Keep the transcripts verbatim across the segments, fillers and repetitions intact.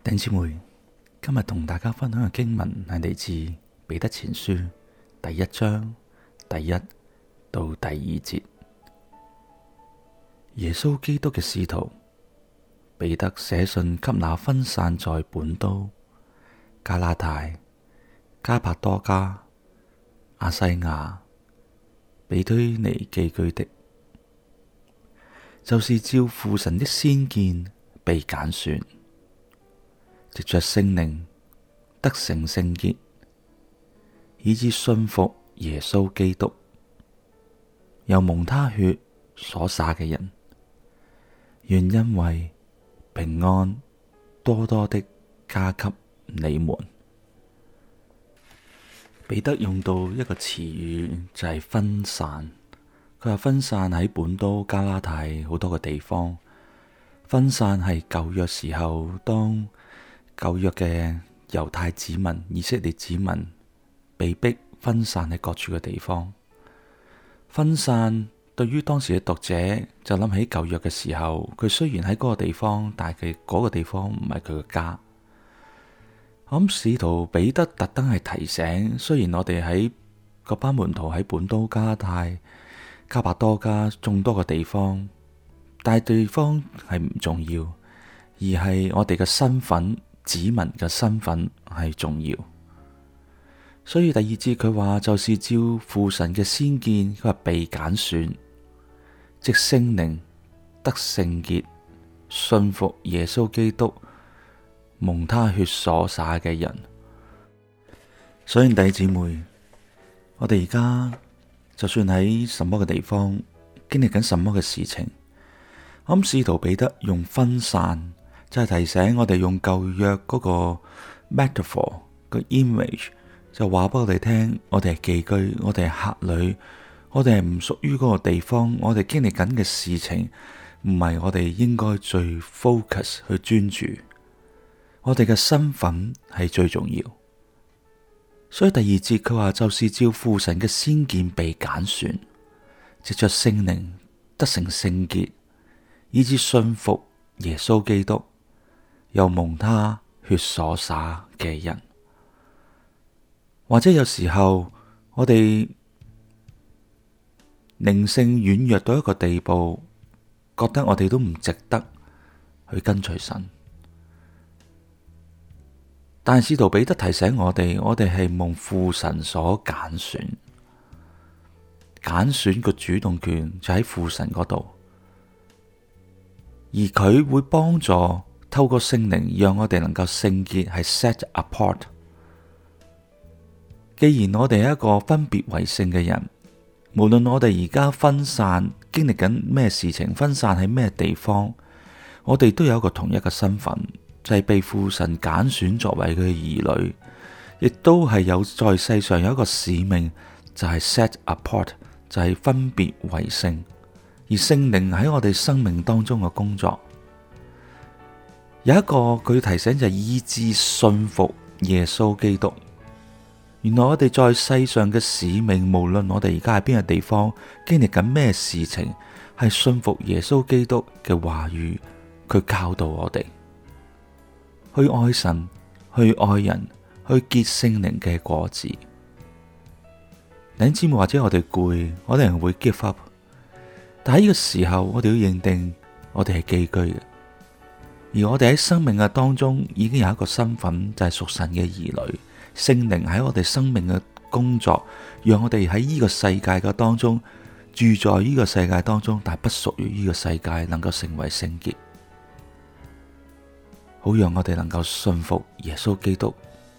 弟兄姊妹，今日同大家分享嘅經文係嚟自彼得前書第一章第一到第二節。耶穌基督嘅使徒彼得寫信給那分散在本都、加拉太、加帕多家、亞西亞、庇推尼寄居的，就是照父神的先見被揀選，藉着聖靈得成聖潔，以致信服耶穌基督，又蒙他血所灑嘅人，願恩惠平安多多的加給你們。彼得用到一個詞語就係分散，佢話分散喺本都、加拉太好多個地方。分散係舊約時候，當舊約嘅猶太子民、以色列子民被逼分散喺各處嘅地方。分散對於當時嘅讀者就諗起舊約嘅時候，佢雖然喺嗰個地方，但係佢嗰個地方唔係佢嘅家。我諗使徒彼得特登係提醒，雖然我哋喺嗰班門徒喺本都、加拉太、加帕多家眾多嘅地方，但係地方係唔重要，而係我哋嘅身份，子民嘅身份係重要。所以第二節佢話，就是照父神嘅先見，佢話被揀選，藉聖靈得聖潔，信服耶穌基督，蒙他血所灑嘅人。所以弟兄姊妹，我哋而家就算喺什麼嘅地方，經歷緊什麼嘅事情，我諗使徒彼得用分散，就係提醒我哋用舊約嗰個 metaphor 個 image，就話俾我哋聽，我哋係寄居，我哋係客旅，我哋係唔屬於嗰個地方，我哋經歷緊嘅事情唔係我哋應該最 focus 去專注，我哋嘅身份係最重要。所以第二節佢話，就是照父神嘅先見被揀選，藉着聖靈得成聖潔，以致信服耶穌基督，又蒙他血所灑嘅人。或者有時候我哋靈性軟弱到一個地步，覺得我哋都唔值得去跟隨神。但使徒彼得提醒我哋，我哋係蒙父神所揀選，揀選個主動權就喺父神嗰度，而佢會幫助透過聖靈，讓我哋能夠聖潔，係 set apart。既然我哋係一個分別為聖嘅人，無論我哋而家分散經歷緊咩事情，分散喺咩地方，我哋都有一個同一個身份，就係被父神揀選作為佢嘅兒女，亦都係有在世上有一個使命，就係 set apart， 就係分別為聖。而聖靈喺我哋生命當中嘅工作，有一個佢提醒就係以致信服耶穌基督。原來我哋在世上嘅使命，無論我哋而家喺邊個地方，經歷緊咩事情，係信服耶穌基督嘅話語，佢教導我哋去愛神，去愛人，去結聖靈嘅果子。弟兄姊妹，或者我哋攰，我哋人會 give up， 但喺呢個時候，我哋要認定我哋係寄居嘅，而我哋喺生命嘅當中已經有一個身份，就係屬神嘅兒女。聖靈喺我哋生命嘅工作，讓我哋喺呢個世界嘅當中住在呢個世界當中，但係不屬於呢個世界，能夠成為聖潔，好讓我哋能夠信服耶穌基督。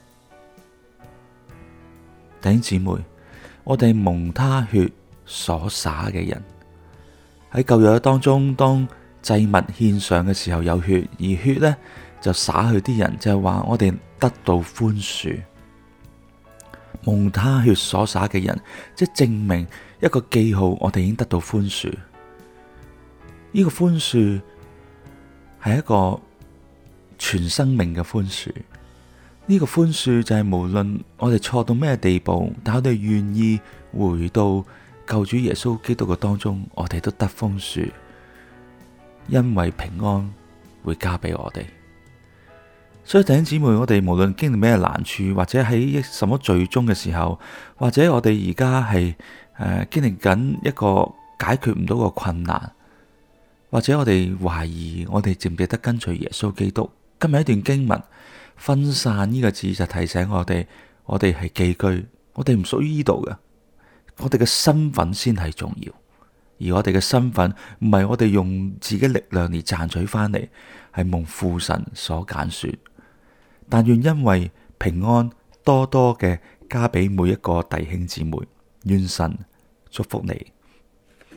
弟兄姊妹，我哋蒙他血所灑嘅人，喺舊約當中，當祭物獻上嘅時候有血，而血呢就灑去啲人，就係話我哋得到寬恕。蒙他血所灑嘅人，即係證明一個記號，我哋已經得到寬恕。呢個寬恕係一個全生命嘅寬恕。呢個寬恕就係無論我哋錯到咩地步，但我哋願意回到救主耶穌基督嘅當中，我哋都得寬恕，因為平安會加俾我哋。 所以弟兄姊妹，我哋無論經歷咩難處，或者喺什麼罪中嘅時候，或者我哋而家係誒經歷緊一個解決唔到個困難，或者我哋懷疑我哋值唔值得跟隨耶穌基督。今日一段經文，分散呢個字就提醒我哋，我哋係寄居，我哋唔屬於呢度嘅，我哋嘅身份先係重要。而我哋嘅身份唔係我哋用自己力量嚟賺取翻嚟，係蒙父神所揀選。但願因為平安多多嘅加俾每一個弟兄姊妹，願神祝福你。